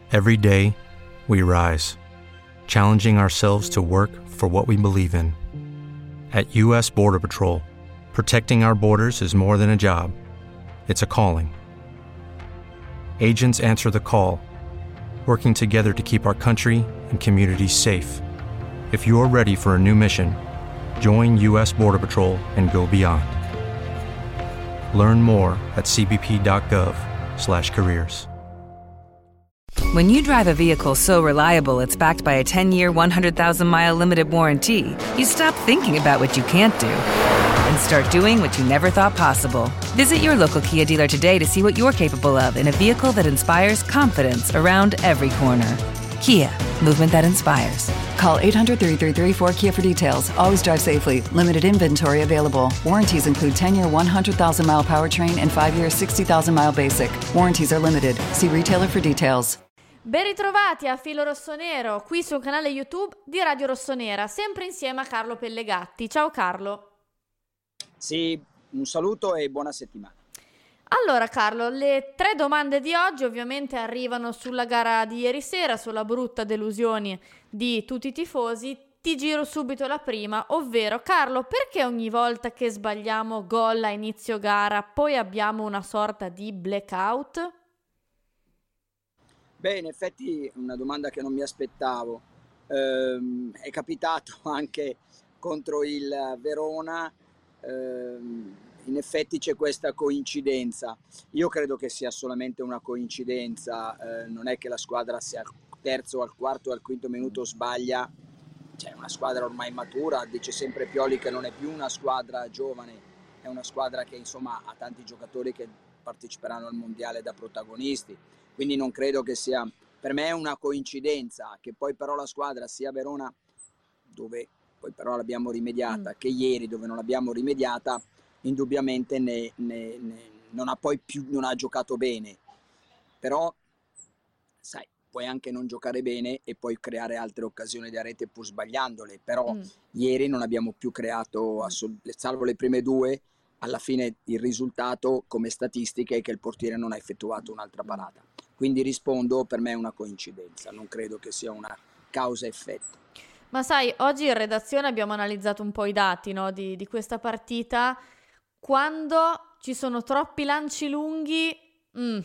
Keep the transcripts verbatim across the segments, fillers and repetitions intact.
Every day, we rise, challenging ourselves to work for what we believe in. At U S Border Patrol, protecting our borders is more than a job. It's a calling. Agents answer the call, working together to keep our country and communities safe. If you're ready for a new mission, join U S Border Patrol and go beyond. Learn more at c b p dot gov slash careers. When you drive a vehicle so reliable it's backed by a ten-year, one hundred thousand mile limited warranty, you stop thinking about what you can't do and start doing what you never thought possible. Visit your local Kia dealer today to see what you're capable of in a vehicle that inspires confidence around every corner. Kia, movement that inspires. Call eight hundred, three three three, four Kia for details. Always drive safely. Limited inventory available. Warranties include ten-year, one hundred thousand mile powertrain and five-year, sixty thousand mile basic. Warranties are limited. See retailer for details. Ben ritrovati a Filo Rossonero, qui sul canale YouTube di Radio Rossonera, sempre insieme a Carlo Pellegatti. Ciao Carlo. Sì, un saluto e buona settimana. Allora Carlo, le tre domande di oggi ovviamente arrivano sulla gara di ieri sera, sulla brutta delusione di tutti i tifosi. Ti giro subito la prima, ovvero Carlo, perché ogni volta che sbagliamo gol a inizio gara poi abbiamo una sorta di blackout? Beh, in effetti è una domanda che non mi aspettavo. Ehm, è capitato anche contro il Verona. Ehm, in effetti c'è questa coincidenza. Io credo che sia solamente una coincidenza, eh, non è che la squadra sia al terzo, al quarto o al quinto minuto sbaglia. C'è una squadra ormai matura, dice sempre Pioli che non è più una squadra giovane, è una squadra che insomma ha tanti giocatori che parteciperanno al mondiale da protagonisti, quindi non credo che sia, per me è una coincidenza che poi però la squadra sia Verona, dove poi però l'abbiamo rimediata, mm. che ieri dove non l'abbiamo rimediata, indubbiamente ne, ne, ne, non ha poi più non ha giocato bene, però sai, puoi anche non giocare bene e poi creare altre occasioni da rete pur sbagliandole, però mm. ieri non abbiamo più creato, assol- salvo le prime due, alla fine il risultato come statistiche è che il portiere non ha effettuato un'altra parata, quindi rispondo, per me è una coincidenza, non credo che sia una causa-effetto. Ma sai, oggi in redazione abbiamo analizzato un po' i dati, no, di, di questa partita. Quando ci sono troppi lanci lunghi, mm,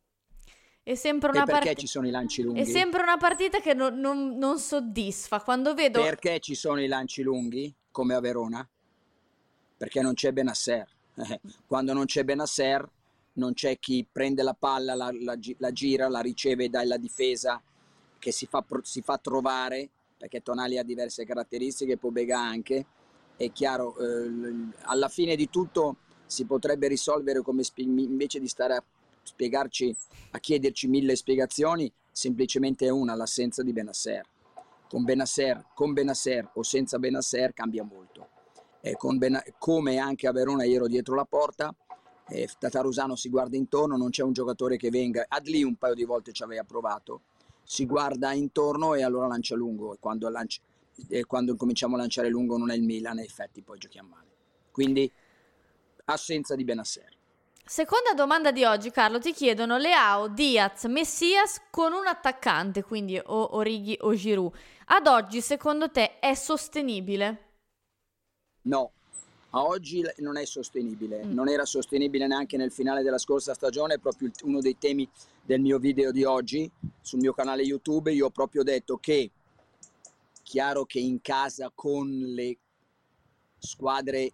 è sempre una e perché part- ci sono i lanci lunghi? È sempre una partita che non, non, non soddisfa. Quando vedo... Perché ci sono i lanci lunghi, come a Verona? Perché non c'è Benasser. Quando non c'è Benasser, non c'è chi prende la palla, la, la, la gira, la riceve dalla difesa, che si fa, si fa trovare, perché Tonali ha diverse caratteristiche, Pobega anche. È chiaro, eh, alla fine di tutto si potrebbe risolvere, come spie- invece di stare a spiegarci, a chiederci mille spiegazioni, semplicemente una, l'assenza di Benasser. Con Benasser, con Benasser o senza Benasser cambia molto. Eh, con ben- come anche a Verona io ero dietro la porta, eh, Tatarusano si guarda intorno, non c'è un giocatore che venga, Adli un paio di volte ci aveva provato, si guarda intorno e allora lancia lungo, e quando, lancia, e quando cominciamo a lanciare lungo non è il Milan, in effetti poi giochiamo male. Quindi assenza di Benasser. Seconda domanda di oggi, Carlo, ti chiedono Leao, Diaz, Messias con un attaccante, quindi o Origi o Giroud. Ad oggi, secondo te, è sostenibile? No, a oggi non è sostenibile, Mm. non era sostenibile neanche nel finale della scorsa stagione, è proprio uno dei temi del mio video di oggi sul mio canale YouTube. Io ho proprio detto che, chiaro che in casa con le squadre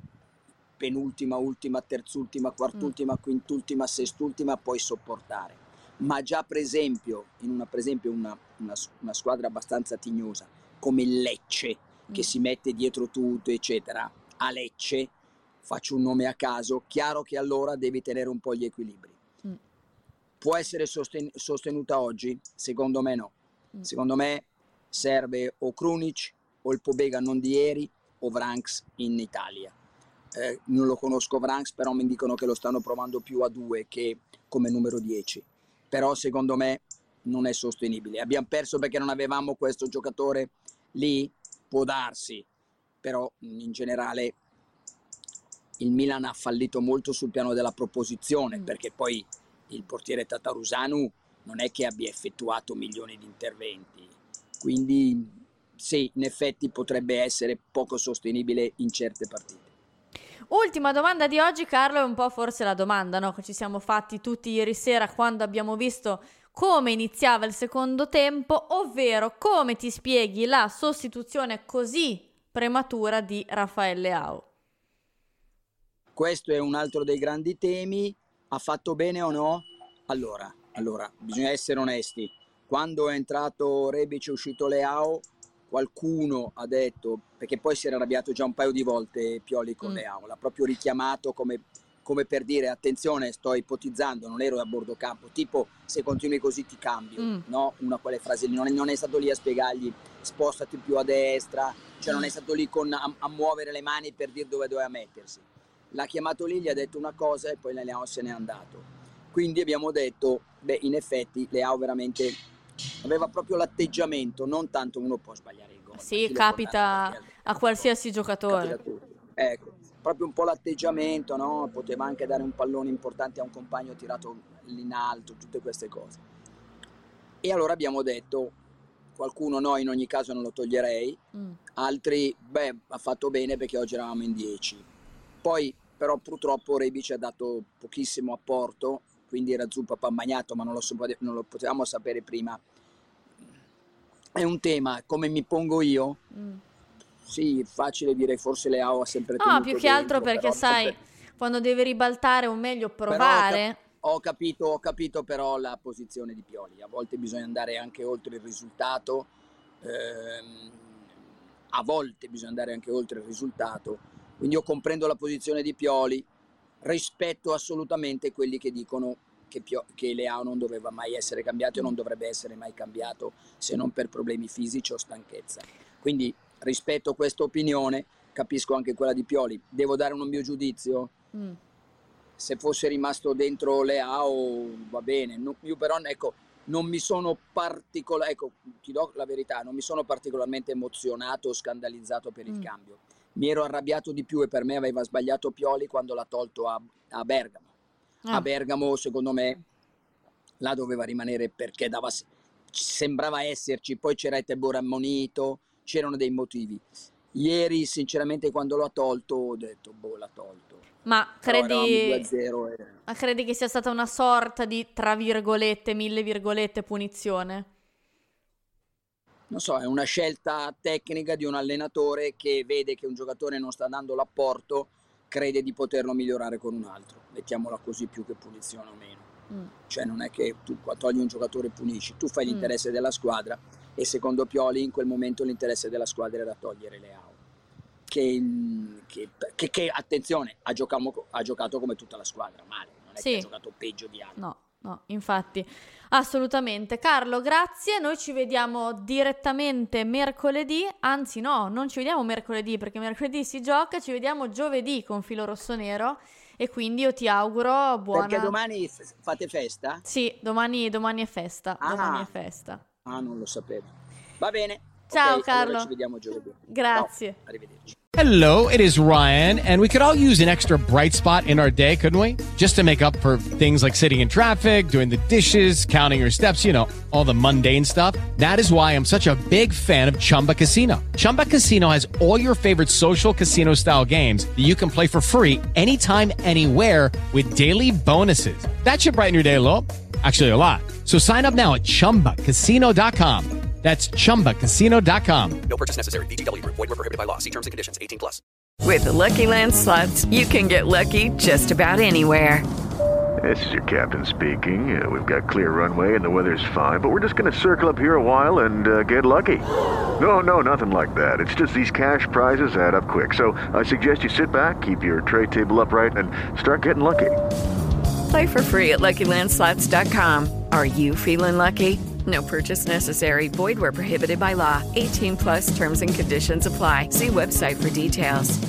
penultima, ultima, terzultima, quartultima, mm. quintultima, sestultima puoi sopportare, ma già per esempio in una, per esempio una, una, una squadra abbastanza tignosa come il Lecce, che si mette dietro tutto eccetera, a Lecce, faccio un nome a caso, chiaro che allora devi tenere un po' gli equilibri. Mm. Può essere sosten- sostenuta oggi? Secondo me no. Mm. Secondo me serve o Krunic o il Pobega non di ieri o Vranks in Italia. Eh, non lo conosco Vranks, però mi dicono che lo stanno provando più a due che come numero dieci. Però secondo me non è sostenibile. Abbiamo perso perché non avevamo questo giocatore lì? Può darsi, però in generale il Milan ha fallito molto sul piano della proposizione, mm. perché poi il portiere Tatarusanu non è che abbia effettuato milioni di interventi, quindi sì, in effetti potrebbe essere poco sostenibile in certe partite. Ultima domanda di oggi, Carlo, è un po' forse la domanda, no, che ci siamo fatti tutti ieri sera quando abbiamo visto come iniziava il secondo tempo, ovvero come ti spieghi la sostituzione così prematura di Rafael Leao? Questo è un altro dei grandi temi. Ha fatto bene o no? Allora, allora bisogna essere onesti. Quando è entrato Rebic e uscito Leao, qualcuno ha detto, perché poi si era arrabbiato già un paio di volte Pioli con mm. Leao, l'ha proprio richiamato come, come per dire attenzione, sto ipotizzando, non ero a bordo campo, tipo se continui così ti cambio, mm. no? Una quelle frasi lì, non è, non è stato lì a spiegargli spostati più a destra, cioè mm. non è stato lì con, a, a muovere le mani per dire dove doveva mettersi. L'ha chiamato lì, gli ha detto una cosa e poi Leao se n'è andato. Quindi abbiamo detto, beh, in effetti Leao veramente aveva proprio l'atteggiamento, non tanto uno può sbagliare il gol. Sì, capita a qualsiasi giocatore. Ecco, proprio un po' l'atteggiamento, no? Poteva anche dare un pallone importante a un compagno tirato lì in alto, tutte queste cose. E allora abbiamo detto, qualcuno no, in ogni caso non lo toglierei, mm. altri, beh, ha fatto bene perché oggi eravamo in dieci. Poi però purtroppo Rebic ha dato pochissimo apporto, quindi era zuppa pan bagnato, ma non lo, non lo potevamo sapere prima. È un tema, come mi pongo io? Mm. Sì, facile dire, forse Leao ha sempre tenuto no, più che altro dentro, perché sai, sempre... quando deve ribaltare o meglio provare. Ho, cap- ho, capito, ho capito però la posizione di Pioli, a volte bisogna andare anche oltre il risultato, ehm, a volte bisogna andare anche oltre il risultato, quindi io comprendo la posizione di Pioli, rispetto assolutamente quelli che dicono che, Pio- che Leao non doveva mai essere cambiato e non dovrebbe essere mai cambiato se non per problemi fisici o stanchezza. Quindi rispetto a questa opinione, capisco anche quella di Pioli. Devo dare un mio giudizio? Mm. Se fosse rimasto dentro Leao va bene, no, io però ecco, non mi sono particolare, ecco, ti do la verità, non mi sono particolarmente emozionato o scandalizzato per il mm. cambio. Mi ero arrabbiato di più e per me aveva sbagliato Pioli quando l'ha tolto a, a Bergamo. Ah. A Bergamo, secondo me, là doveva rimanere perché dava, sembrava esserci, poi c'era Etebor ammonito, c'erano dei motivi. Ieri, sinceramente, quando l'ho tolto, ho detto, boh, l'ha tolto. Ma credi, due a zero e... ma credi che sia stata una sorta di, tra virgolette, mille virgolette, punizione? Non so, è una scelta tecnica di un allenatore che vede che un giocatore non sta dando l'apporto, crede di poterlo migliorare con un altro, mettiamola così, più che punizione o meno. Mm. Cioè non è che tu togli un giocatore e punisci, tu fai mm. l'interesse della squadra e secondo Pioli in quel momento l'interesse della squadra era togliere Leao, che, che, che, che attenzione, ha giocato, ha giocato come tutta la squadra, male, non è sì. che ha giocato peggio di altri. No. No, infatti, assolutamente. Carlo, grazie. Noi ci vediamo direttamente mercoledì. Anzi, no, non ci vediamo mercoledì perché mercoledì si gioca. Ci vediamo giovedì con Filo Rossonero. E quindi io ti auguro buona. Perché domani f- fate festa? Sì, domani, domani è festa. Ah. Domani è festa. Ah, non lo sapevo. Va bene. Ciao, okay, Carlo. Allora ci vediamo giovedì. Grazie. Ciao. Arrivederci. Hello, it is Ryan, and we could all use an extra bright spot in our day, couldn't we? Just to make up for things like sitting in traffic, doing the dishes, counting your steps, you know, all the mundane stuff. That is why I'm such a big fan of Chumba Casino. Chumba Casino has all your favorite social casino-style games that you can play for free anytime, anywhere with daily bonuses. That should brighten your day a little. Actually, a lot. So sign up now at chumba casino dot com. That's chumba casino dot com. No purchase necessary. V G W. Void where prohibited by law. See terms and conditions. eighteen plus. With the Lucky Land Slots, you can get lucky just about anywhere. This is your captain speaking. Uh, we've got clear runway and the weather's fine, but we're just going to circle up here a while and uh, get lucky. No, no, nothing like that. It's just these cash prizes add up quick. So I suggest you sit back, keep your tray table upright, and start getting lucky. Play for free at lucky land slots dot com. Are you feeling lucky? No purchase necessary. Void where prohibited by law. eighteen plus terms and conditions apply. See website for details.